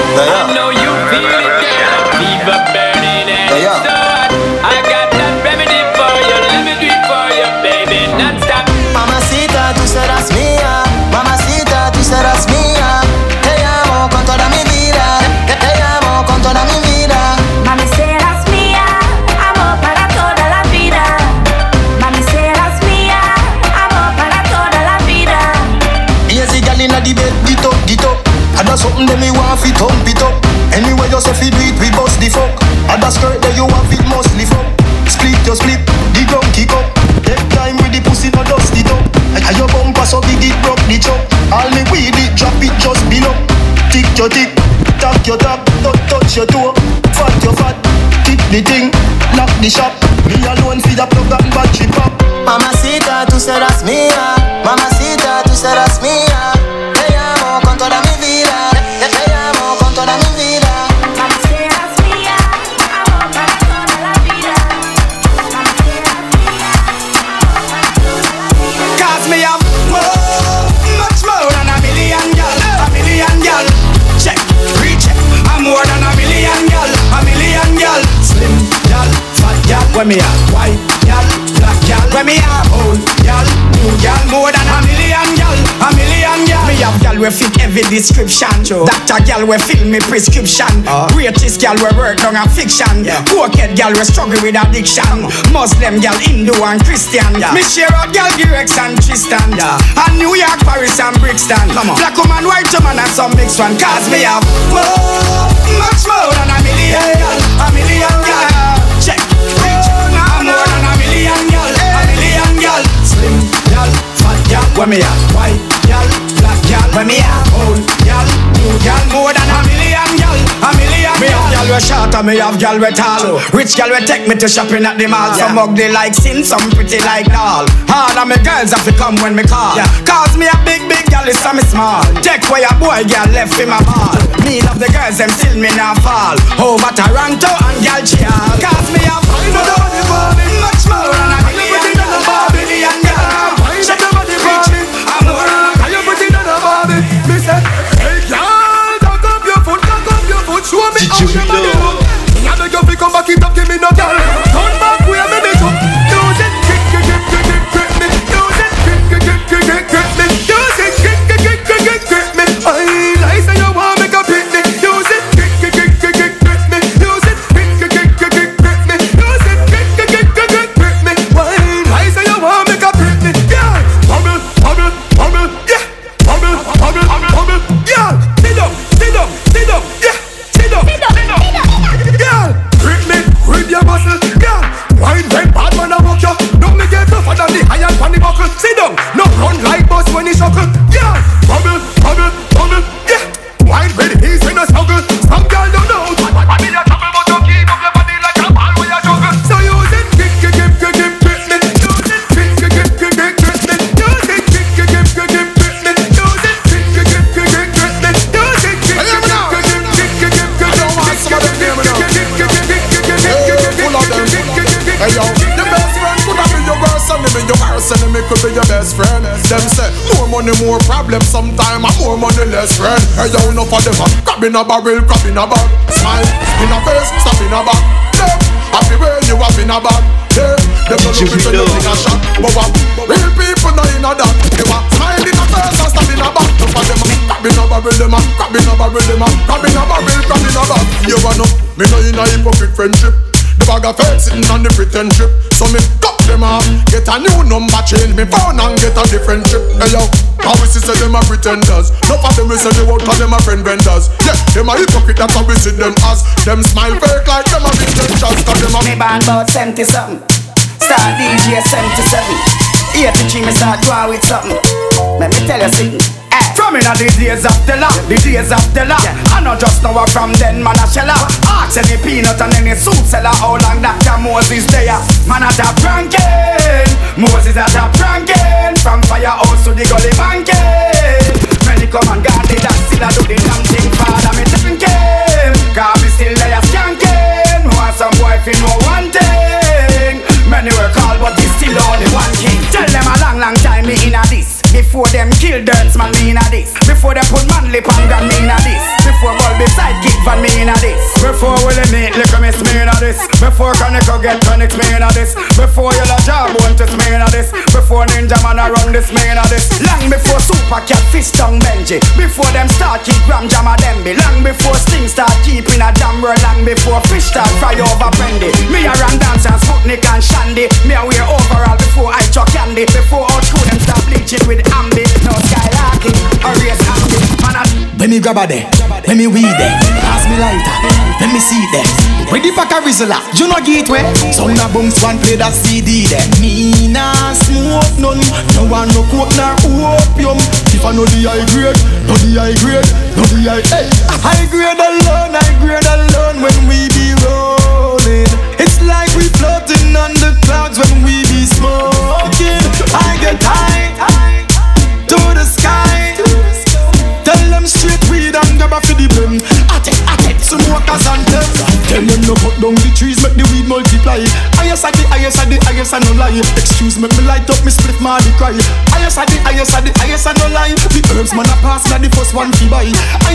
I know you feel it girl. Fever burning and so hot. I got that remedy for you. Let me do it for you baby, not stop. Mamacita, tú serás mía. Mamacita, tú serás mía. Te amo con toda mi vida. Te amo con toda mi vida. Mami serás mía, amor para toda la vida. Mami serás mía, amor para toda la vida. Easy gal inna the bed, dit up. I do something that me want fi thump it up. Anyway you say fi do it, we bust the fuck. I da skirt that you want it must lift up. Split your split, the ground kick up. Take time with the pussy, no dust it up. And your bumper so big it broke the chop. All me weed it, drop it just below. Tick your tick, tap your tap, don't touch your toe. Fat your fat, kick the thing, lock the shop. Me alone fi the plug and battery pop. Mamacita, tú serás mía. Mamacita, tú serás mía. Te amo con toda mi vida. Te amo con toda mi vida. Mami serás mía, amor para toda la vida. Mami serás mía, amor para toda la vida. Cause me have more, much more than a million gal. A million gal. Check, recheck. I'm more than a million gal. A million gal. Slim gal, fat gal. When me have white gal, black gal. When me have old gal, new gal. More than a million gal. A million gal. Me have gal we fit every description. Doctor gal we fill me prescription. Greatest gal we work on a fiction. Pocket gal we struggle with addiction. Muslim gal, Hindu and Christian. Me share out gal Girex and Tristan. And New York, Paris and Brixton. Black woman, white woman and some mixed one. Cause me have more, much more than a million gal. A million gal. Check, reach. I'm more than a million gal. A million gal. Slim gal, fat gal. When me have white gal, black gal. When me have old gal, new gal. More than a million gal. A million gal. Me have gal we short and me have gal we tall. Rich gal we take me to shopping at the mall. Some ugly like sin, some pretty like doll. All of me girls have to come when me call. Cause me a big gal is some small. Take where your boy gal left in my ball. Me love the girls them still me not fall. Over Toronto and gal chial. Cause me have much more than a million gal. Check the body reaching. I'm more than you put it on the body. Me say, hey girl, cock up your foot, show me how your body look. I beg you to come back it up, give me no girl. Turn back where me make up. Use it, grip me. Use it, grip me. Use it, grip me. I like say you want make a pick me. Use it, grip me. Use it, grip me. Use it, grip me. Why like say you want make a pick me? Yeah, bubble, yeah, bubble, yeah. Sit down, yeah. Girl, grip me, grip your muscle. Girl, wine when bad man a walk you. Don't make it tougher than the iron pan the buckle. Sit down, no run like bus when he shuckle. Girl, bubble, yeah. Wine when he's in a struggle. Some girl don't know. I mean a trouble, but you keep up your body like a ball when you juggle. So use it, grip me. Use it, grip me. Use it, grip me. Use it, grip me. Hey yo, the best friend could have been your worst enemy. Your worst enemy could be your best friend. Them say, more money, more problems. Sometime more money, less friend. Hey yo, enough of them. Crab in a barrel, crab in a bag. Smile, in a face, stop in a back. Look, happy way you have in a bag. Yeah, them don't look into you in a shot. But what? Real people not in a that. They want smile in a face and stop in a back. Enough of them. Crab in a barrel, them a. Crab in a barrel, them a. Crab in a barrel, crab in a bag. You wanna? Me know in a hypocrite friendship. The bag of fake sitting on the pretend trip. So me cut them off, get a new number, change me phone and get a different chip. Hey yo, how we see say them a pretenders. None of them we say they won't call them a friend vendors. Yeah, them a hypocrite, that's how we see them as. Them smile fake like them a intentions. Cause them a me born about 70 something. Start DJ 77. 83 me start draw with something. Let me tell you something. From in the days of the law, the days of the law. I know just now from then man a shella. Ask any peanut and any soup seller how long Dr. Moses there. Man a top ranking, Moses a top ranking. From firehouse to the gully banking. Many come and gone, they that still a do the damn thing. Father me thinking, cause me still there skanking. Want some boy fi know one thing. Many were called but they still only one king. Tell them a long, long time me inna this. Before them kill Dirts man me inna this. Before them put man lip on gun me inna this. Before ball beside kick van me inna this. Before Willie meet lick miss me inna this. Before Conico get tonics me inna this. Before Yellow Jawbone test me inna this. Before Ninja Man a run this me inna this. Long before Super Cat Fish Tongue Benji. Before them start keep Ram Jam a Demby. Long before Sting start keeping a damn world. Long before Fish start fry over Brandy. Me a run dance and Sputnik and Shandy. Me a wear overall before I chuck candy. Before all school them start bleaching with Ambi. No skylarking or race Ambi. When me grab a there, when me weed there, pass me lighter, let me see there. Ready pack a Rizla, you know gateway. Sound a bounce one play that CD there. Me nah smoke none, no one no coke nor opium. If I know the high grade, no the high grade, no the high. Hey, high grade alone when we be rolling. It's like we floating on the clouds when we be smoking. I get high to the sky. Tell them straight weed and grab a for the blem. I take some walkers and them. Tell them no cut down the trees, make the weed multiply. I no lie. Excuse me light up, me split my the cry. I no lie. The herbs man a pass, me the first one fi buy. I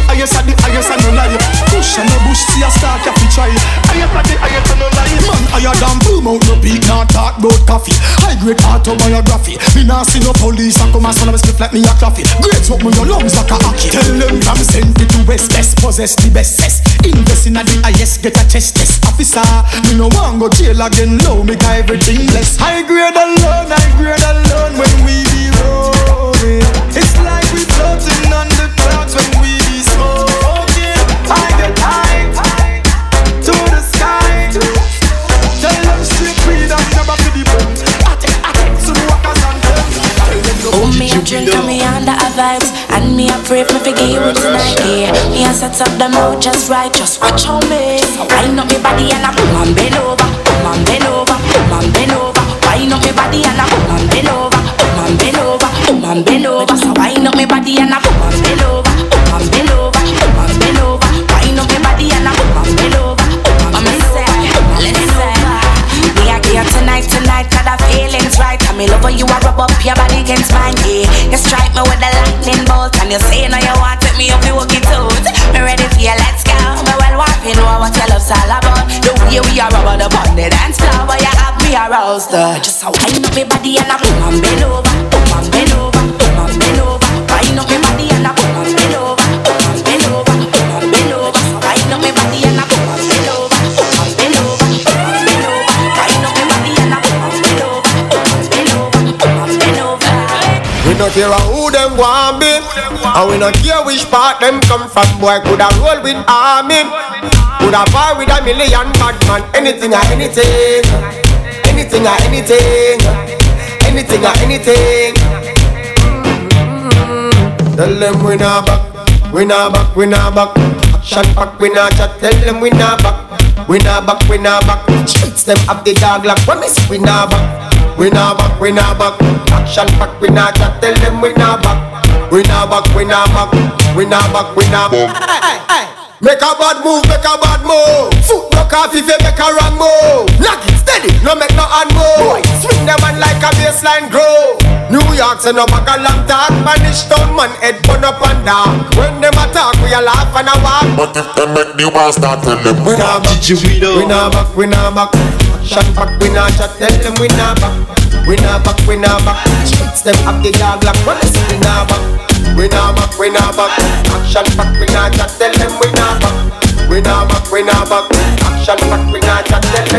no lie. Push and no bush, see a star cafe try. I no lie. Man, I a damn boom out no beat, not talk about coffee. High grade autobiography. Me nah see no police, I come and swallow me split like me a coffee. Great smoke me your lungs like a hockey. Tell them from Century to West, best possess the best cess. Invest in a the highest, get a chest test. Officer, me no want go jail again. Low, make everything less. High grade alone when we be rolling. It's like we floating on the clouds when we be smoking. I get high to the sky. Tell them straight weed and never for the bone. I take some walkers and them. Oh, me a drink and me under a vibes. And me a pray for forgive me tonight, yeah. Me a set up the mouth just right, just watch on me. Wind up me body and I come and bend over. Come and bend over, come and bend over. Wind up me body and I come and bend over. Come and bend over, come and bend over. Just wind up me body and I come and bend over. Come and bend over, come and bend over. Wind up me body and I come and bend over. Come and bend over, listen. Me a here tonight, cause the feelings right. And me love how you a rub up your body against mine, yeah. You strike me with the lightning bolt. And you say now you want to take me up, you walk it out. Me ready for you, let's go. Me well want to know what your love's all about. The way we are rubber the bond, the dance floor. But you have me aroused, just a wind up your body and I come and bend over. Come and bend over, come and bend over. Wind up your body and I come and bend over. Come and bend over, come and bend over. So wind up your body and I come and bend over. Come and bend over, come and bend over. Wind up your body and I come and bend over. Come and bend over, come and bend over. We no care who them want be, and we no care which part them come from. Boy coulda roll with army, coulda bar with a million bad man. Anything or anything, anything or anything, anything or anything. Tell them we nah back, we nah back, we nah back. Action back, we nah chat. Tell them we nah back, we nah back, we nah back. Streets them up the dog like promise. We nah back, we nah back, we nah back. Action back, we nah chat. Tell them we nah back, we nah back, we nah back, we nah back, we nah back. Make a bad move, make a bad move. Foot knock off if you make a wrong move. Knock it steady, no make no hand move. Swing them on like a baseline grow. New York send no back a long talk. Spanish town man head burn up and down. When them attack we a laugh and a walk. But if them make the war start, tell them we nah back. We nah back, we nah back. Action back, we nah chat. Tell them we nah back. We nah back, we nah back. Streets them up the dog like promise. We nah back. We nah back, we nah back. Action back, we nah chat. Tell them we nah back. We nah back, we nah back. Action back, we nah chat. Tell them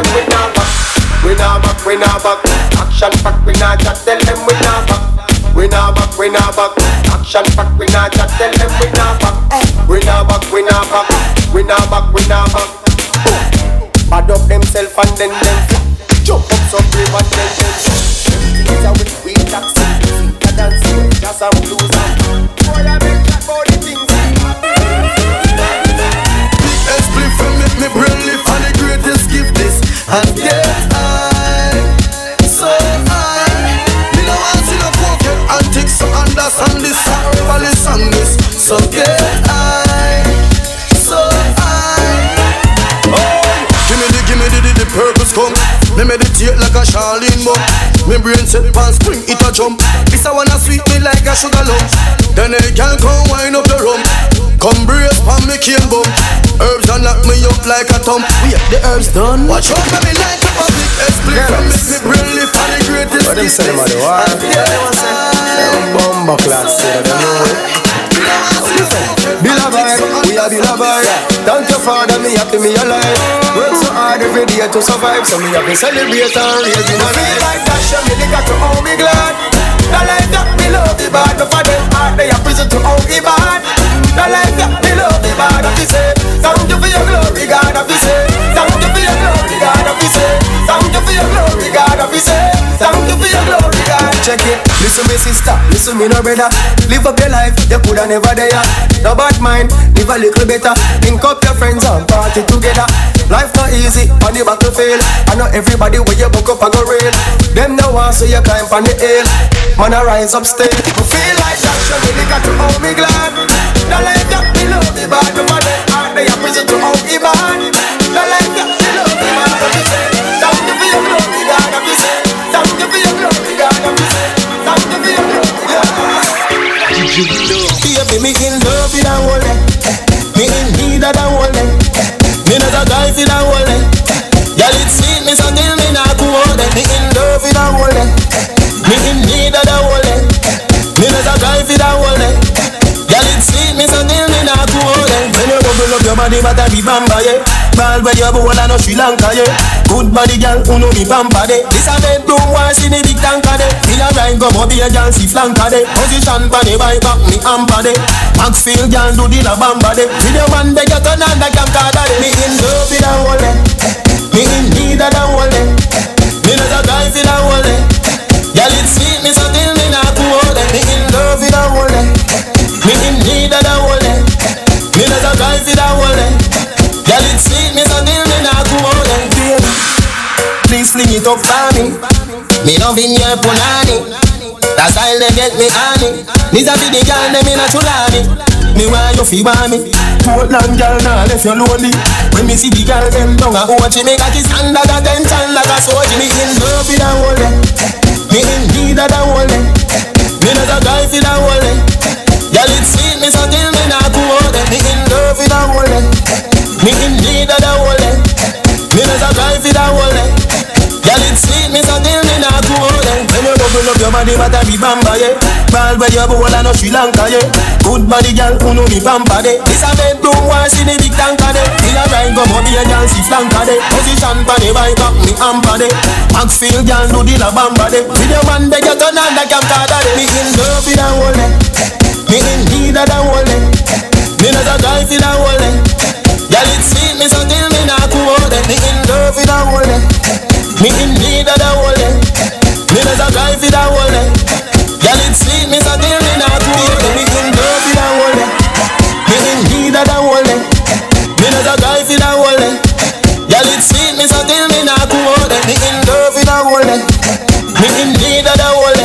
we not back. Action pack, we not chat, tell them we not back. We not back, we not back. Action pack, we not chat, tell them we not back. We not back, we not back. We not back, we not back. Bad up themself and then them jump up some brave and then them. It's a we taxi, a dance, just a blues and boy I make that body things. Split from me brain lift and the greatest gift this and get high, so high. Me no want see no pocket antics, so understand this, never listen this. So get high, so high. Oh, give me the purpose come. Me meditate like a Charlene bum. Me brain set pan spring, it a jump. This I wanna sweet me like a sugar lump. Then a girl come wind up the rum. Come brace pan me cane bum. Herbs and knock me up like a thump. Wait, the herbs done. Watch out me like a public split from me brain lift and the greatest. What them say about the war? Yeah, they want say bomba class, say they know it. Beloved, we are beloved. Thank your father, me happy me alive. Work so hard every day to survive, so me happy celebrate and raise in a feel like that, show me the got to all me glad. The life that me love the bad, but for them heart they are prison to all the bad. The life that me love the bad, I fi say thank you for your glory, God, I fi say thank you for your glory, God, I fi say thank you for your glory, God, I fi say thank you for your glory, God. Check it, listen me sister, listen me no brother. Live up your life, you coulda never there. No bad mind, live a little better. Link up your friends and party together. Life not easy on the battlefield. I know everybody where you buck up and go real. Them no want so you climb on the hill. Man I rise up still. I feel like that show me got to hold me glad. The life that me love me bad. No matter how they are prison to hold me bad. The life that me love me bad. I be say thank you for your glory, God. I be say thank you for your glory, God. I be say thank you for your glory, God. Baby, me in love with that one. Me in need of that one. Me not a guy for that one. Y'all it sweet me so till me not go out. Me in love with that one. Me in need of that one. Me not a guy for that one. Y'all it sweet me so till me not go out. When you bubble up your body, but I be bamba, yeah. Ball where you born and no Sri Lanka, yeah. Good body girl, who know me bamba, de. This a bedroom, why see the big tanker, de. Me a ride, come up here, girl, see flanker, de. Position pa the bike, back me amper, de. Maxfield, girl, do the la bamba, de. See the man, they get on and the camcorder, de. Me in love with that one, me in need of that one, me not a guy for that one, y'all it sweet me so till me not go out, me in love with that one, me in need of that one, me not a guy for that one, y'all it sweet me so till me not go out, baby. Please fling it up for me. Me loving your punani. That style they get me honey. These are the girl them in a chulani. Me want you fi want me. Portland girl now left you lonely. When me see the girl them down a watch me got his stand like a tension like a soldier. Me in love with that one. Me in need of that one. Me not a guy for that one. Y'all it sweet me so till me not go out. Me in love with that one. Me in need of that one. Me not a guy for that one. Y'all it sweet me so till me not go out. When you bubble up your body, but I be bamba, yeah. Ball where you born and no Sri Lanka, yeah. Good body girl, who know me bamba, de. This a bedroom, why see the big tanker, de. Me a ride, come up here, girl, see flanker, de. Position pa the bike, back me amper, de. Maxfield, girl, do the la bamba, de. See the man, they get on and the camcorder, de. Me in love with that one, me in need of that one, me not a guy for that one, y'all it sweet me so till me not go out, me in love with that one, me in need of that one, me not a guy for that one, y'all it sweet me so till me not go out, me in love with that one, me in need of that one, me not a guy for that one, y'all it sweet me so till me not go out, me in love with that one, me in need of that one,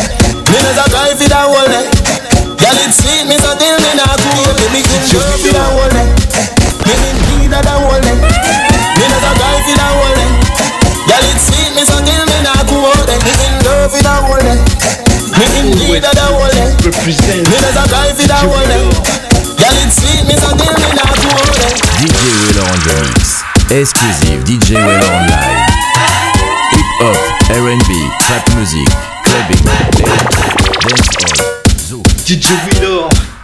me not a guy for that one, y'all it sweet me so till me not go out, me in love with that one, me in need of that one, me not a guy for that one. Y'all it sweet me so till me not go out. Me in love with that one. Me in need of that one. Me not a guy for that one. Y'all it sweet me so till me not go out. DJ Weller on the mix. Exclusive DJ Weller online. Hip hop, R&B, trap music, clubbing, dancehall, zoo. DJ Weller.